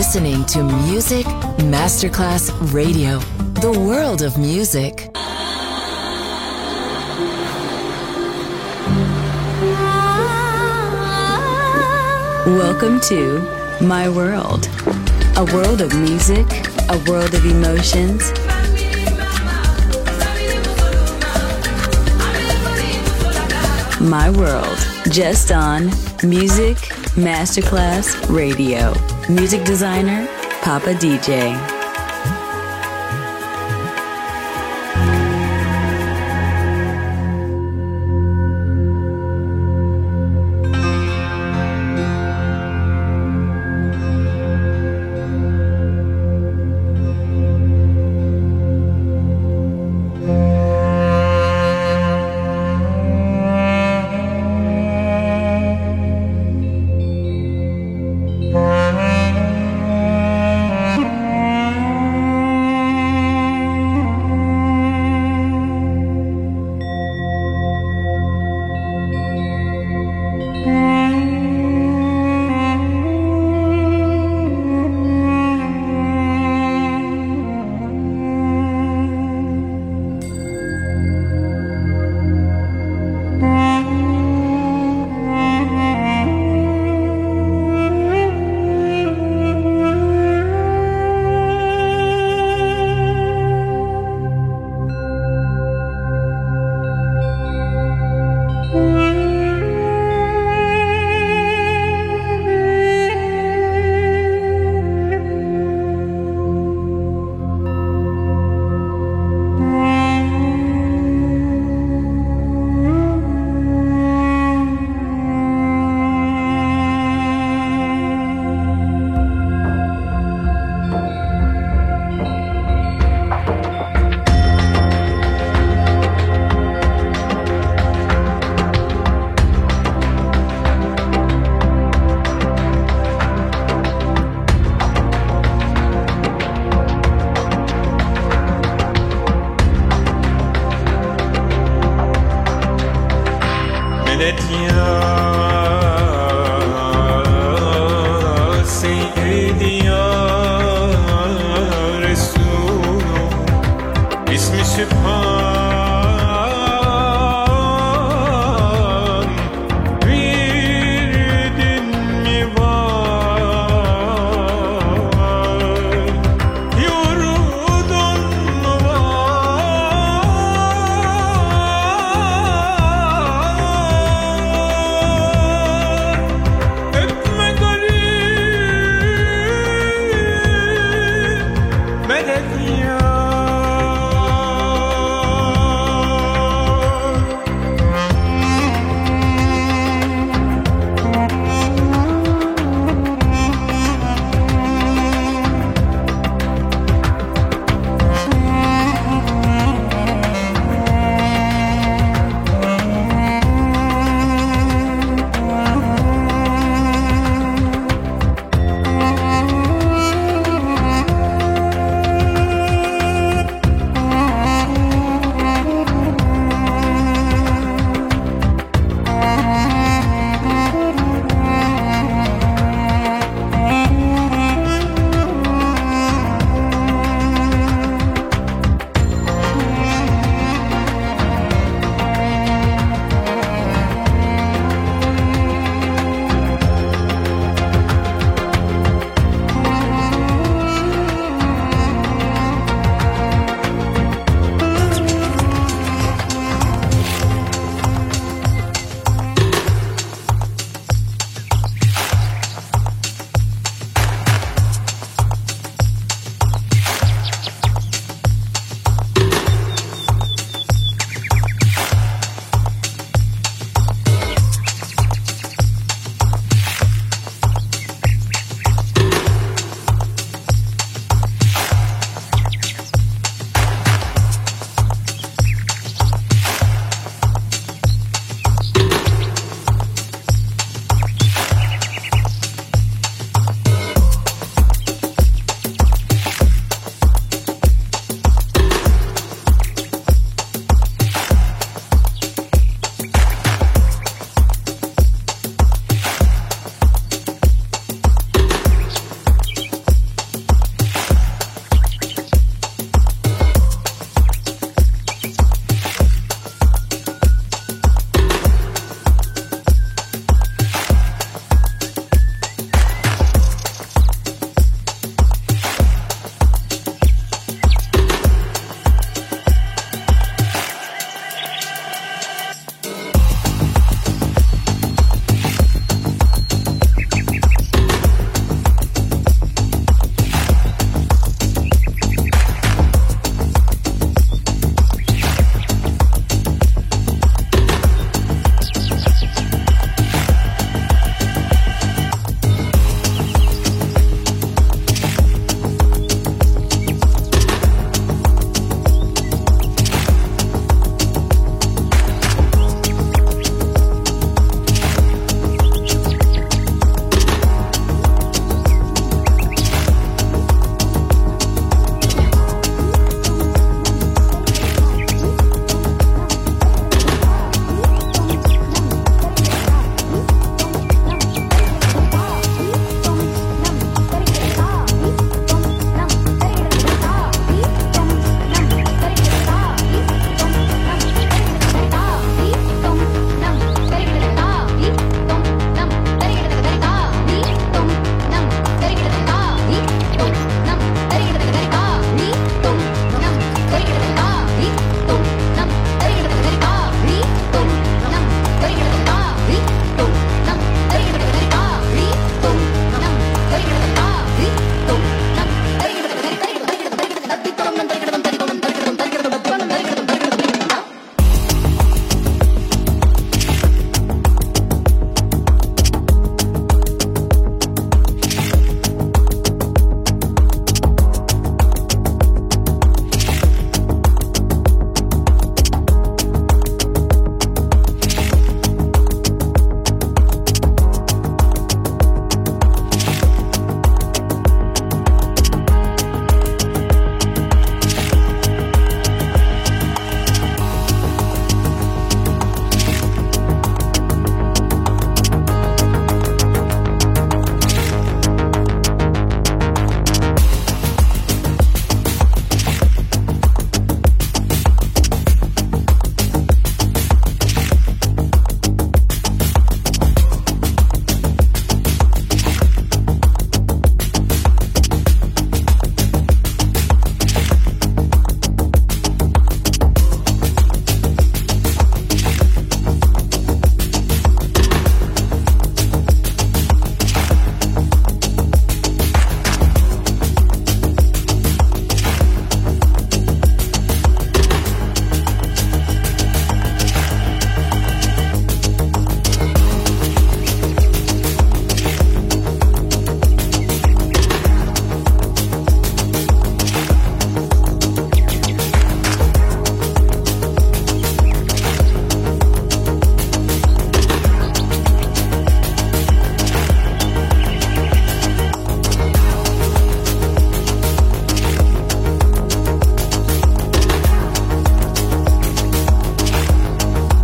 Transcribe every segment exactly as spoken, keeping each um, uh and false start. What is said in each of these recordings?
listening to Music Masterclass Radio, the world of music. Welcome to My World, a world of music, a world of emotions. My World, just on Music Masterclass Radio. Music designer, Papa D J.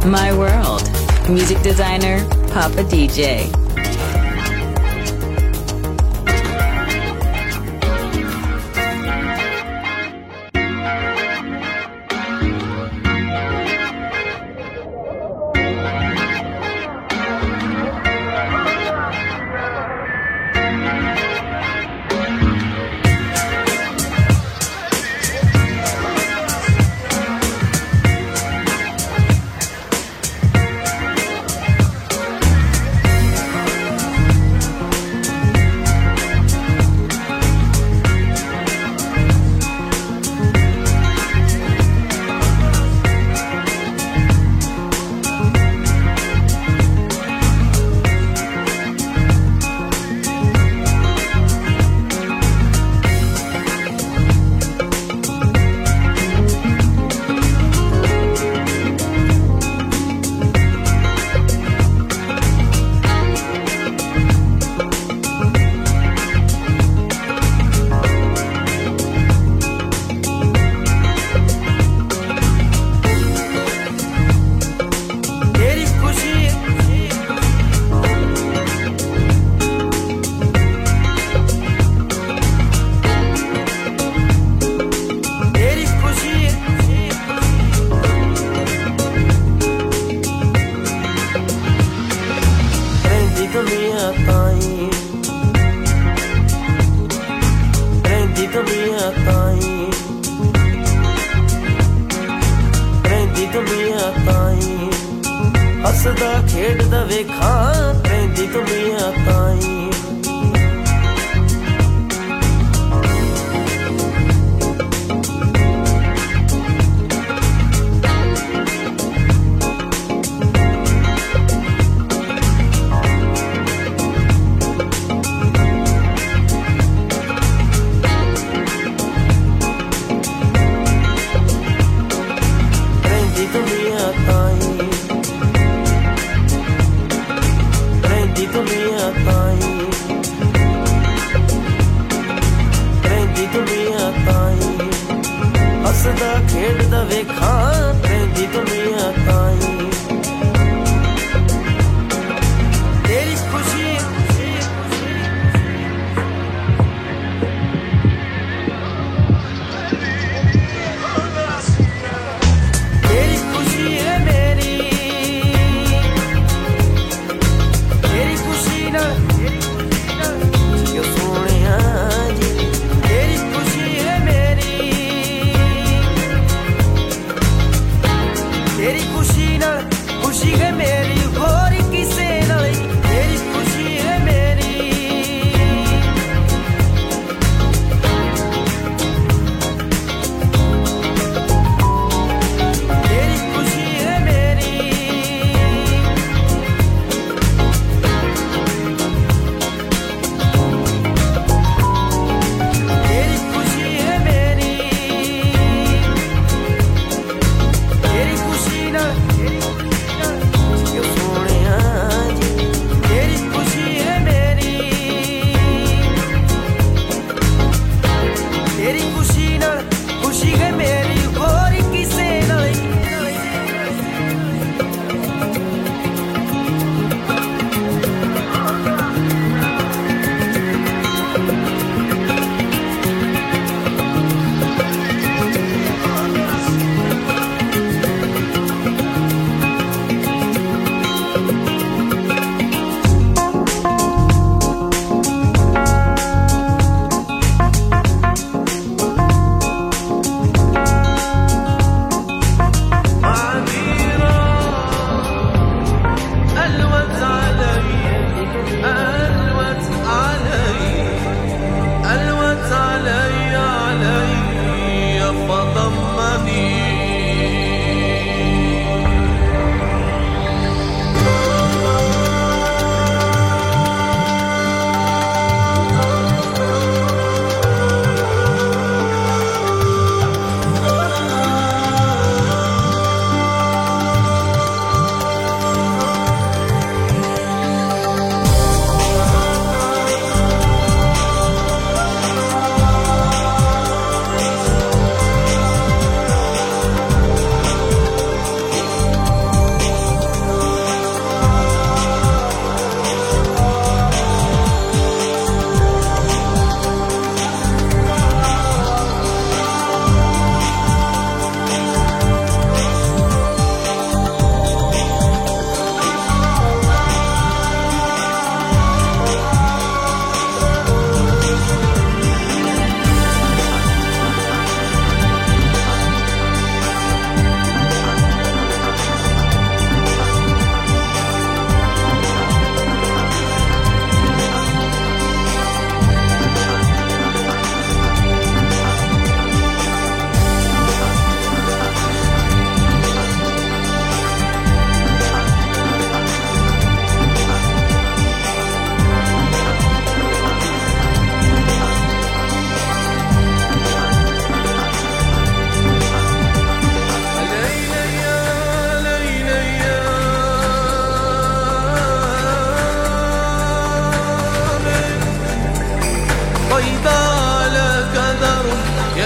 My World. Music designer, Papa D J.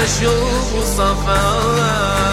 يشوب صفاء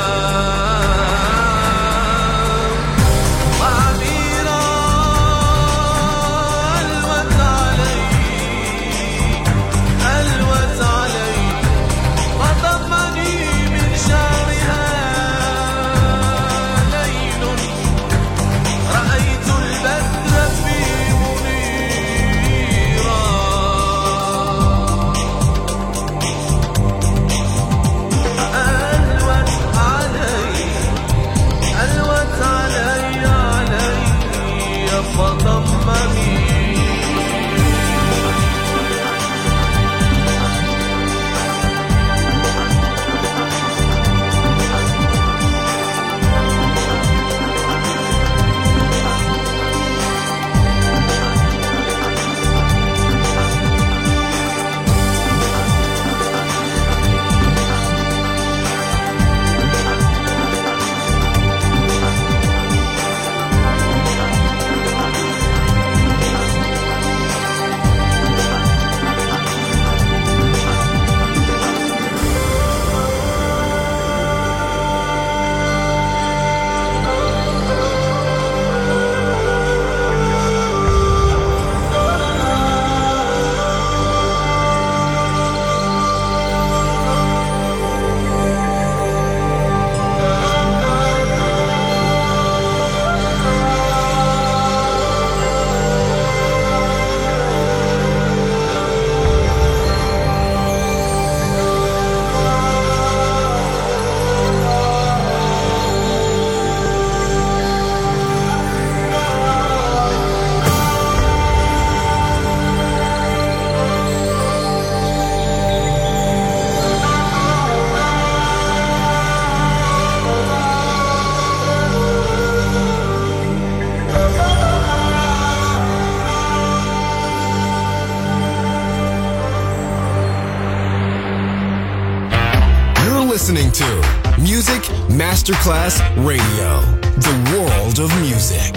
Listening to Music Masterclass Radio, the world of music.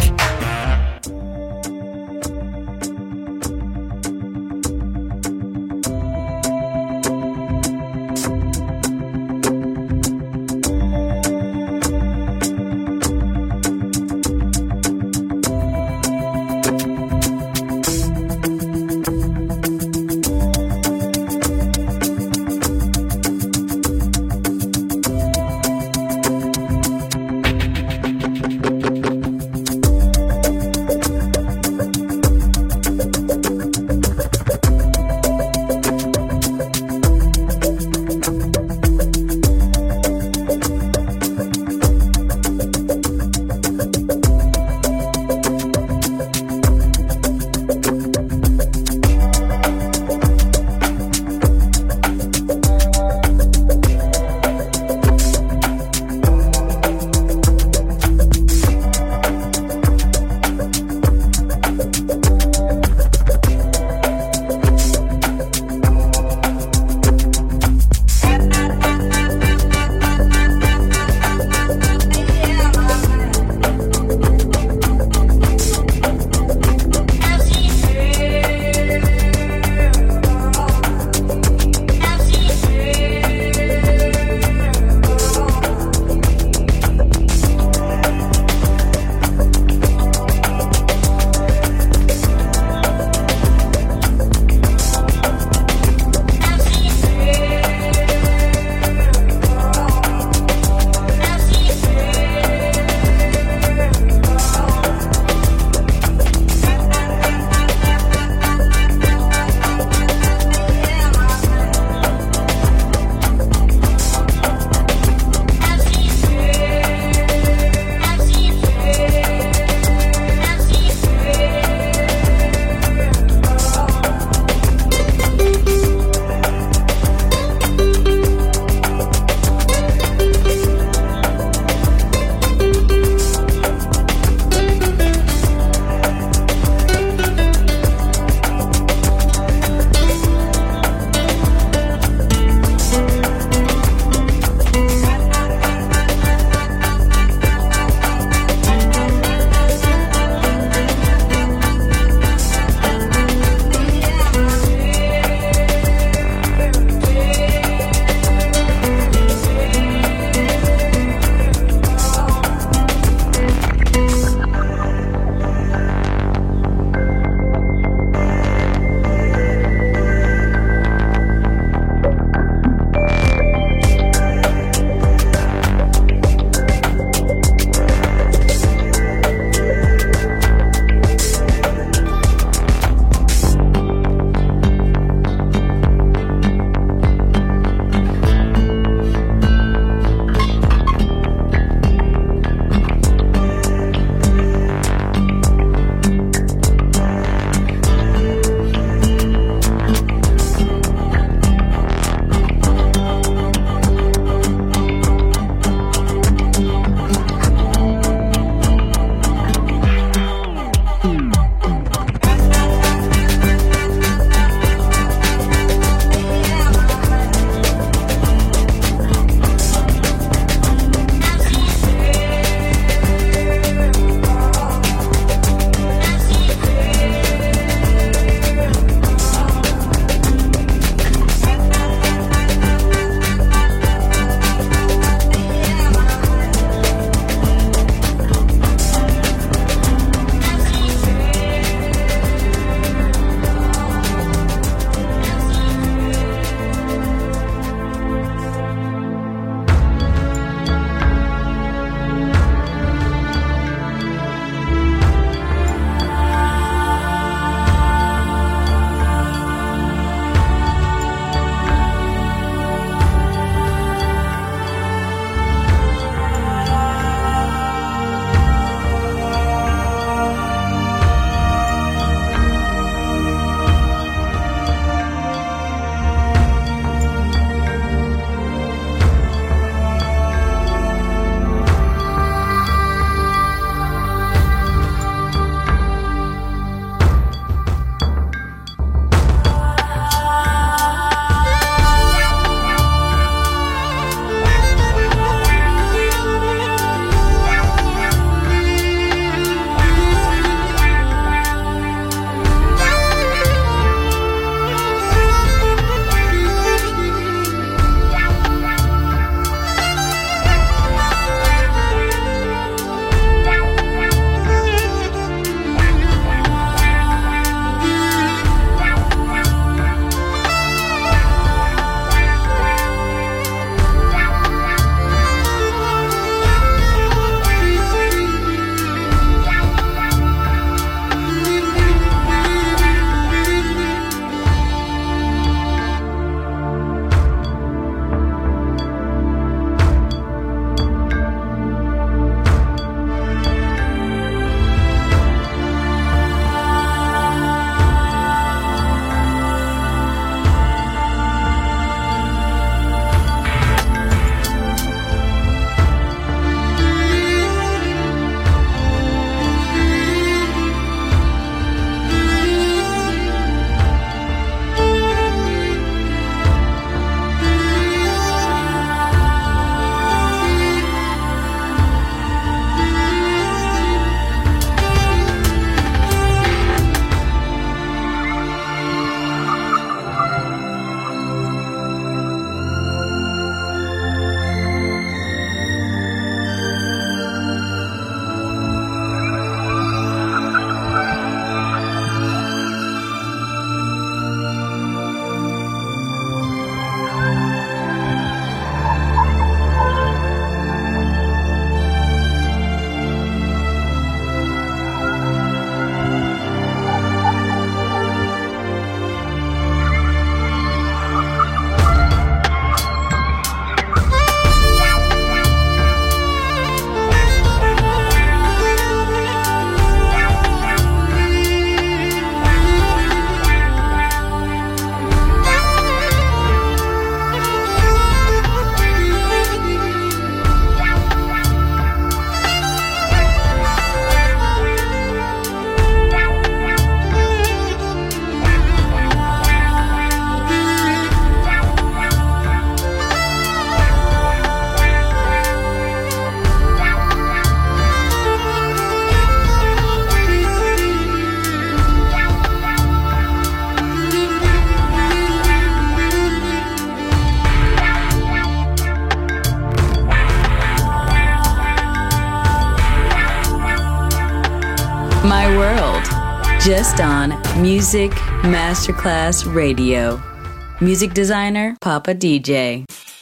My World, just on Music Masterclass Radio. Music designer, Papa D J.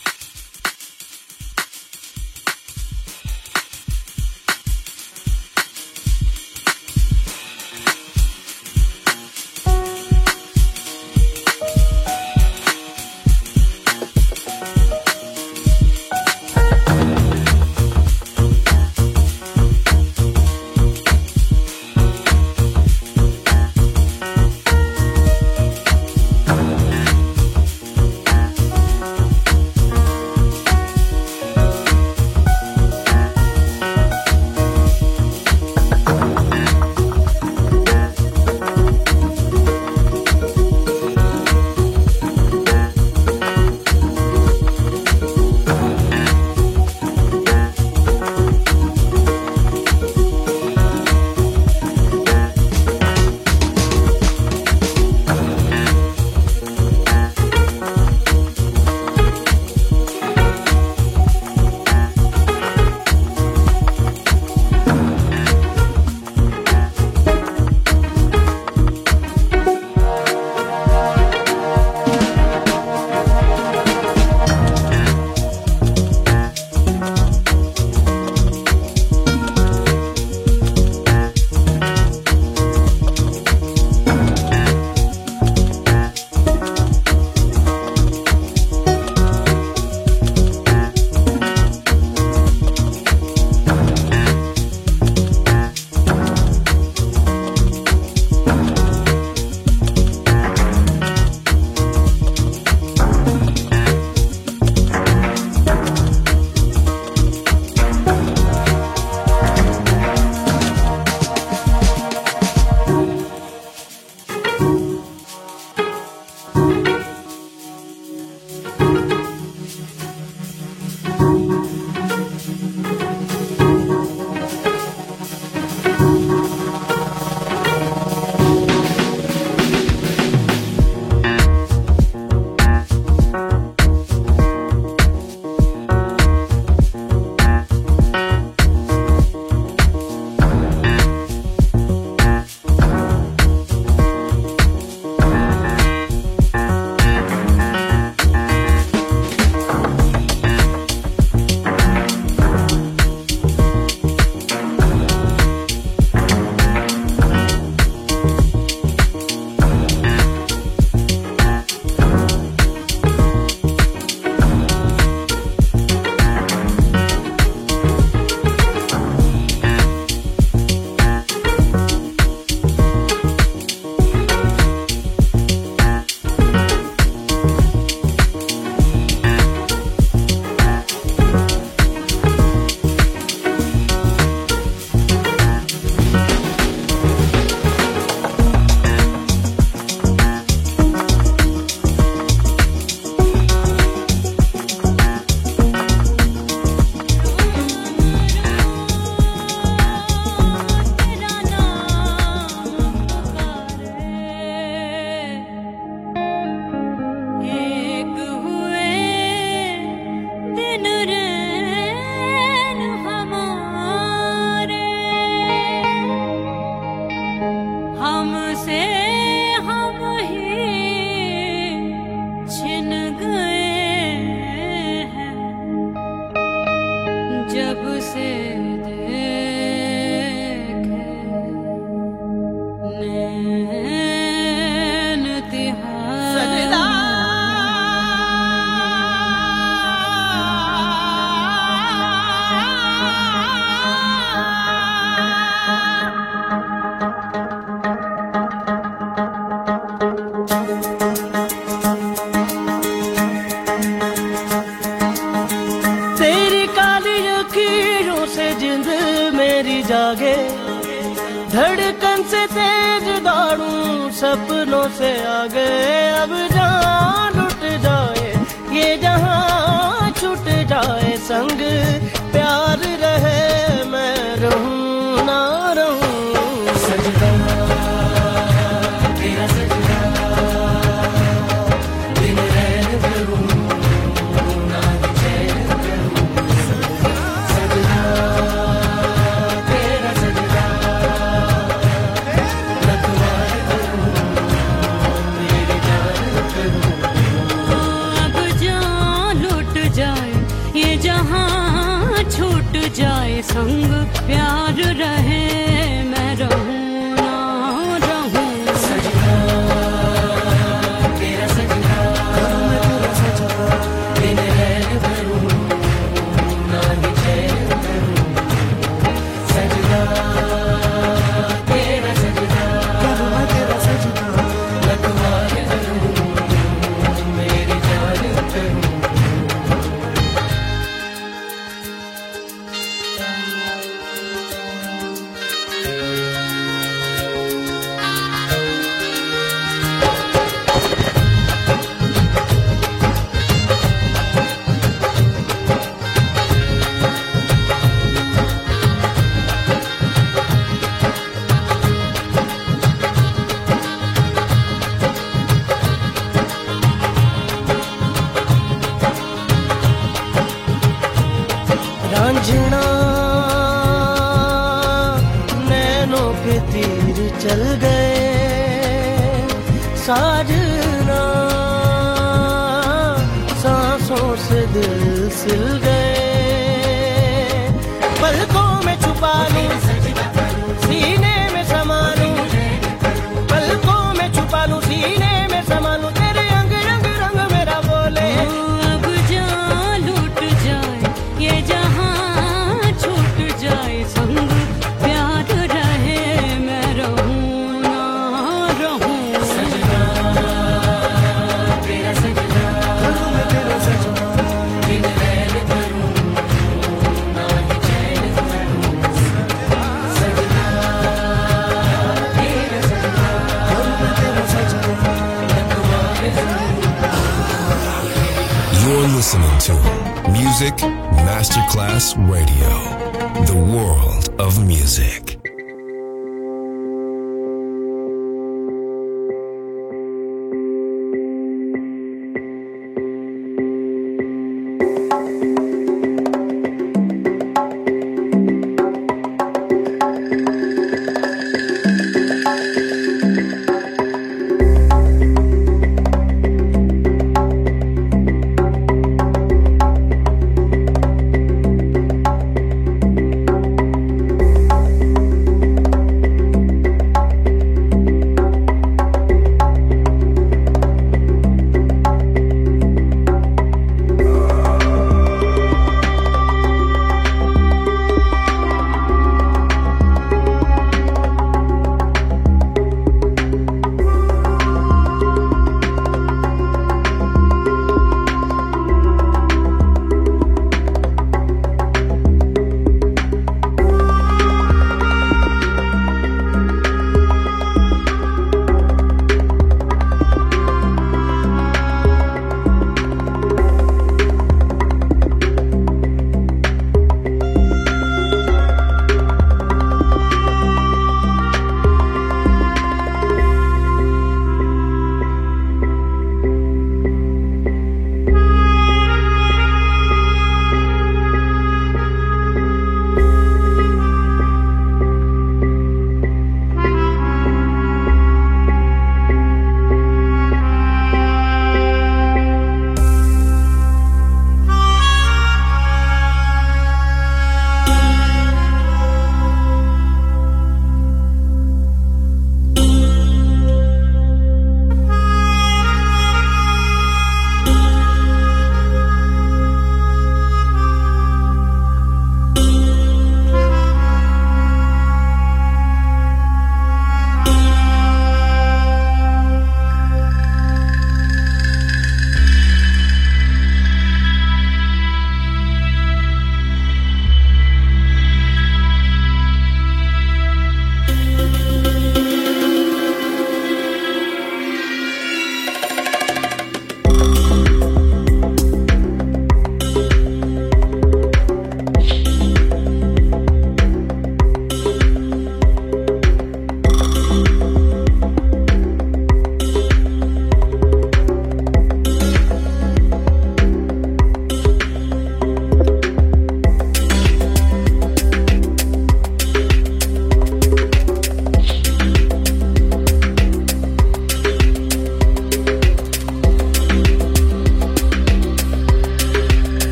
जागे, धड़कन से तेज दौड़ूं सपनों से आगे। अब जान लुट जाए ये जहां छूट जाए, संग प्यार रहे मैं रहूं ना रहूं। सजदा तेरा सजदा दिन रैन भरूं ना चैन करूं। सजदा तेरा सजदा संग प्यार रहे मैं रहूं ना रहूं सजना तेरा सजना मैं तेरा सजना दिन रैन भरूं ना ही चैन करूं सजना तेरा सजना मैं तेरा सजना लखवार करूं मेरी जान करूं रांझना नैनों के तीर चल गए साजना सांसों से दिल सिल गए पलकों में छुपा लूं सीने में समा लूं पलकों में छुपा लूं सीने में समा लूं तेरे अंग रंग रंग मेरा बोले अब जा लूट जाए ये जहां छूट जाए संग प्यार रहे मैं रहूं ना रहूं सजना तेरा सजना मैं तेरा सजना दिन रैन भरूं ना ही चैन करूं सजना तेरा सजना मैं तेरा सजना लखवार करूं You're listening to Music Masterclass Radio, the world of music.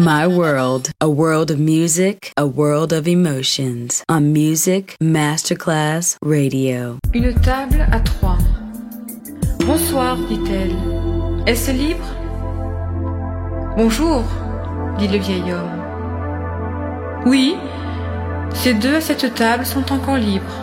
My World, a world of music, a world of emotions. On Music Masterclass Radio. Une table à trois. Bonsoir, dit-elle. Est-ce libre? Bonjour, dit le vieil homme. Oui, ces deux à cette table sont encore libres.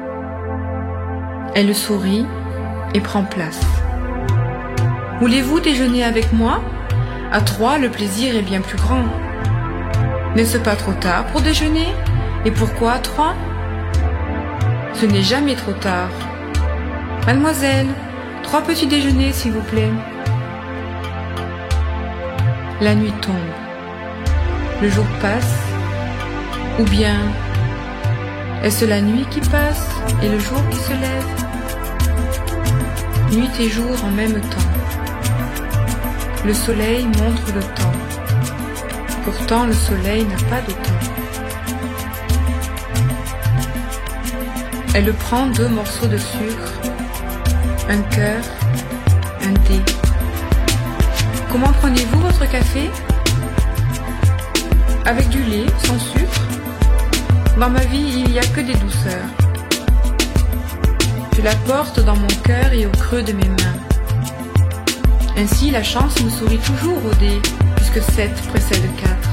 Elle sourit et prend place. Voulez-vous déjeuner avec moi? À trois, le plaisir est bien plus grand. N'est-ce pas trop tard pour déjeuner? Et pourquoi à trois? Ce n'est jamais trop tard. Mademoiselle, trois petits déjeuners, s'il vous plaît. La nuit tombe. Le jour passe. Ou bien, est-ce la nuit qui passe et le jour qui se lève? Nuit et jour en même temps. Le soleil montre le temps. Pourtant, le soleil n'a pas de temps. Elle prend deux morceaux de sucre, un cœur, un dé. Comment prenez-vous votre café? Avec du lait, sans sucre? Dans ma vie, il n'y a que des douceurs. Je la porte dans mon cœur et au creux de mes mains. Ainsi, la chance me sourit toujours au dé, puisque sept précède quatre.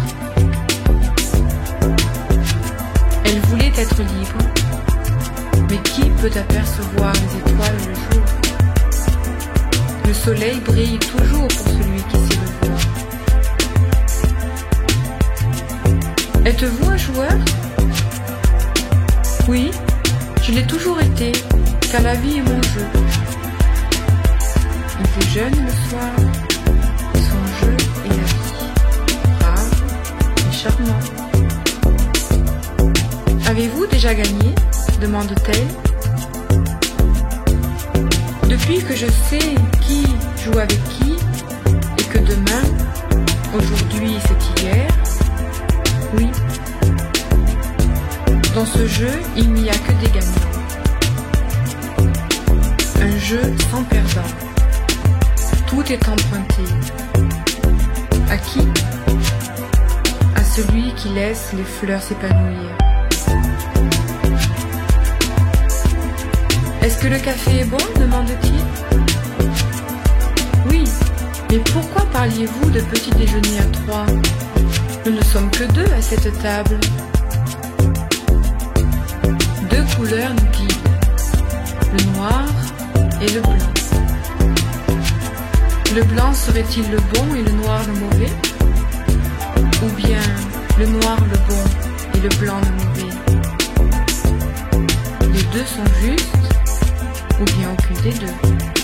Elle voulait être libre, mais qui peut apercevoir les étoiles le jour? Le soleil brille toujours pour celui qui sait le voir. Êtes-vous un joueur? Oui, je l'ai toujours été, car la vie est mon jeu. Il est jeune le soir, et son jeu est la vie, brave et charmant. Avez-vous déjà gagné? Demande-t-elle. Depuis que je sais qui joue avec qui, et que demain, aujourd'hui c'est hier, oui. Dans ce jeu, il n'y a que des gagnants. Un jeu sans perdant. Tout est emprunté. À qui? À celui qui laisse les fleurs s'épanouir. Est-ce que le café est bon? Demande-t-il. Oui, mais pourquoi parliez-vous de petit déjeuner à trois? Nous ne sommes que deux à cette table. Deux couleurs nous guident, le noir et le blanc. Le blanc serait-il le bon et le noir le mauvais? Ou bien le noir le bon et le blanc le mauvais? Les deux sont justes, ou bien aucune des deux?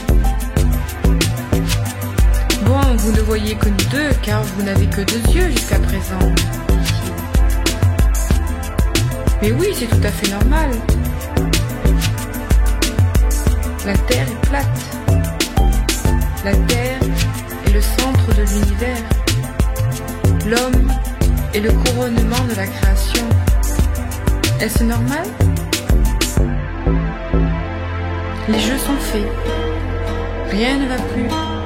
Bon, vous ne voyez que nous deux, car vous n'avez que deux yeux jusqu'à présent, dit-il. Mais oui, c'est tout à fait normal. La Terre est plate. La Terre est le centre de l'univers. L'homme est le couronnement de la création. Est-ce normal? Les jeux sont faits. Rien ne va plus.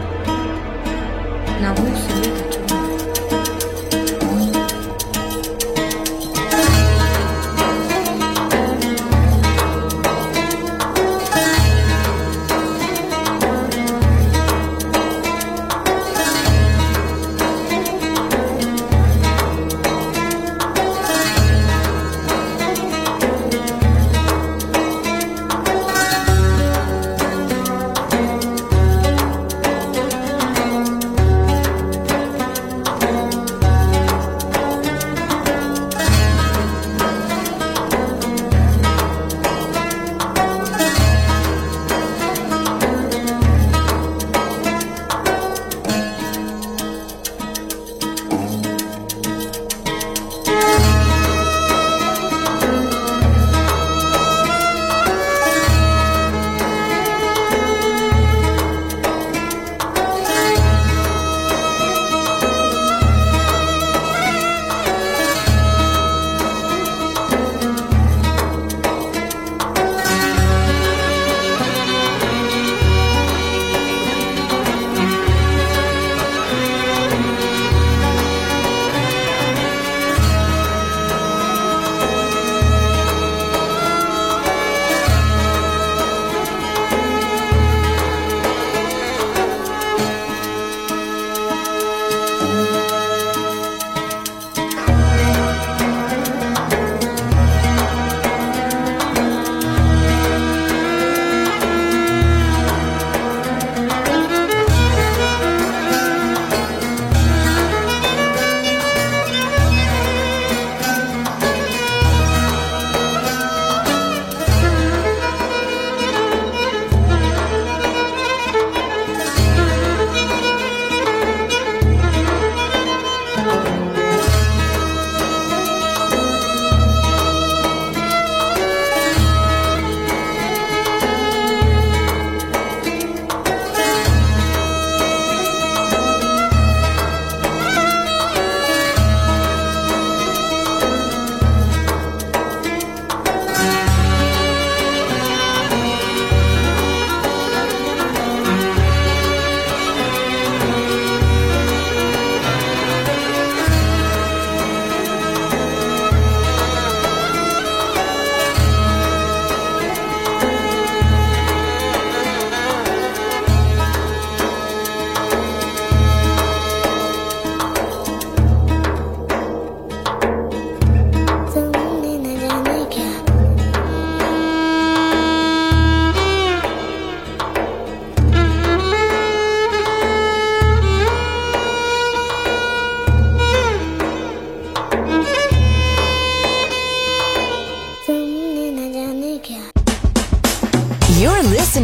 La roue se met à tourner.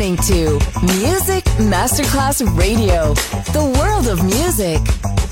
listening to Music Masterclass Radio, the world of music.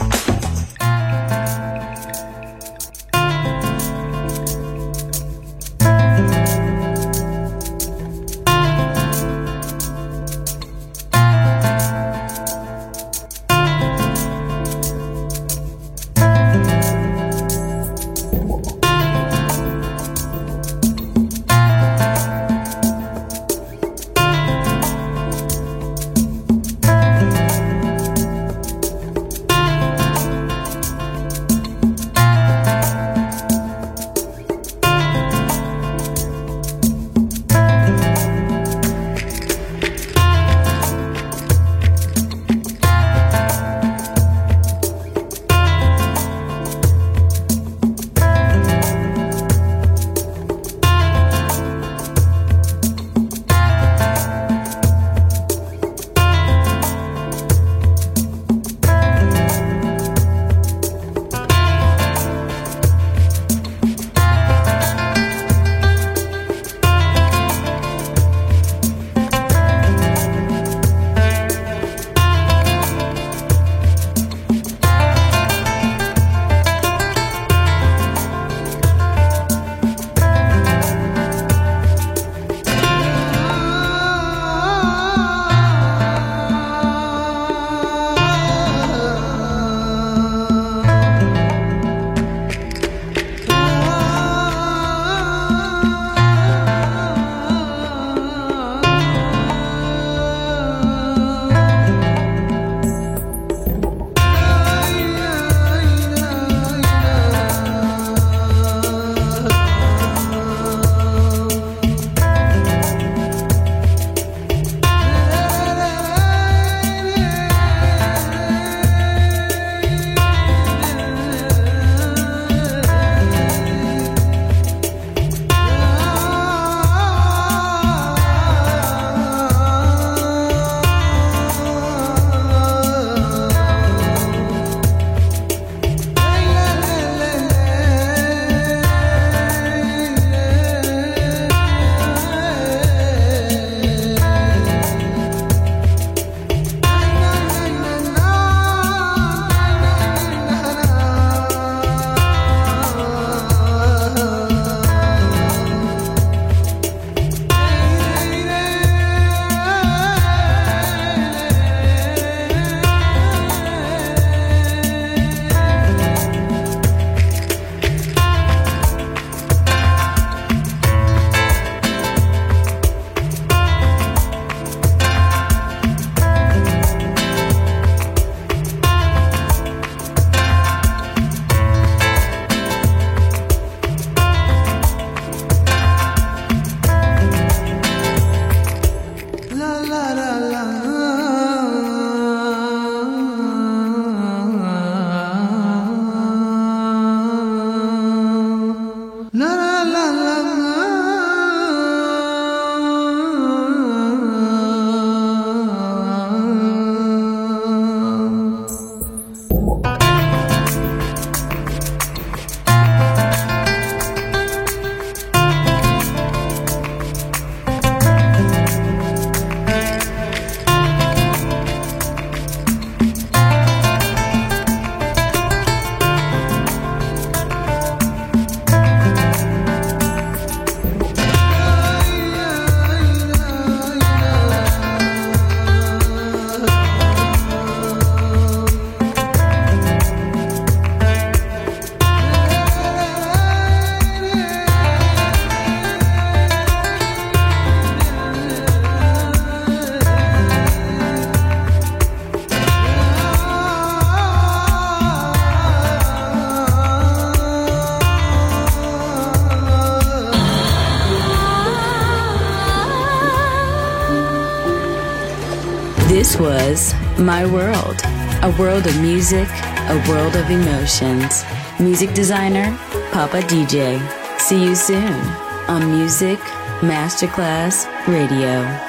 This was My World, a world of music, a world of emotions. Music designer, Papa D J. See you soon on Music Masterclass Radio.